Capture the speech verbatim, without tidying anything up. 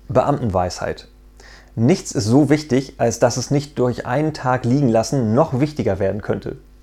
Beamtenweisheit. Nichts ist so wichtig, als dass es nicht durch einen Tag liegen lassen noch wichtiger werden könnte.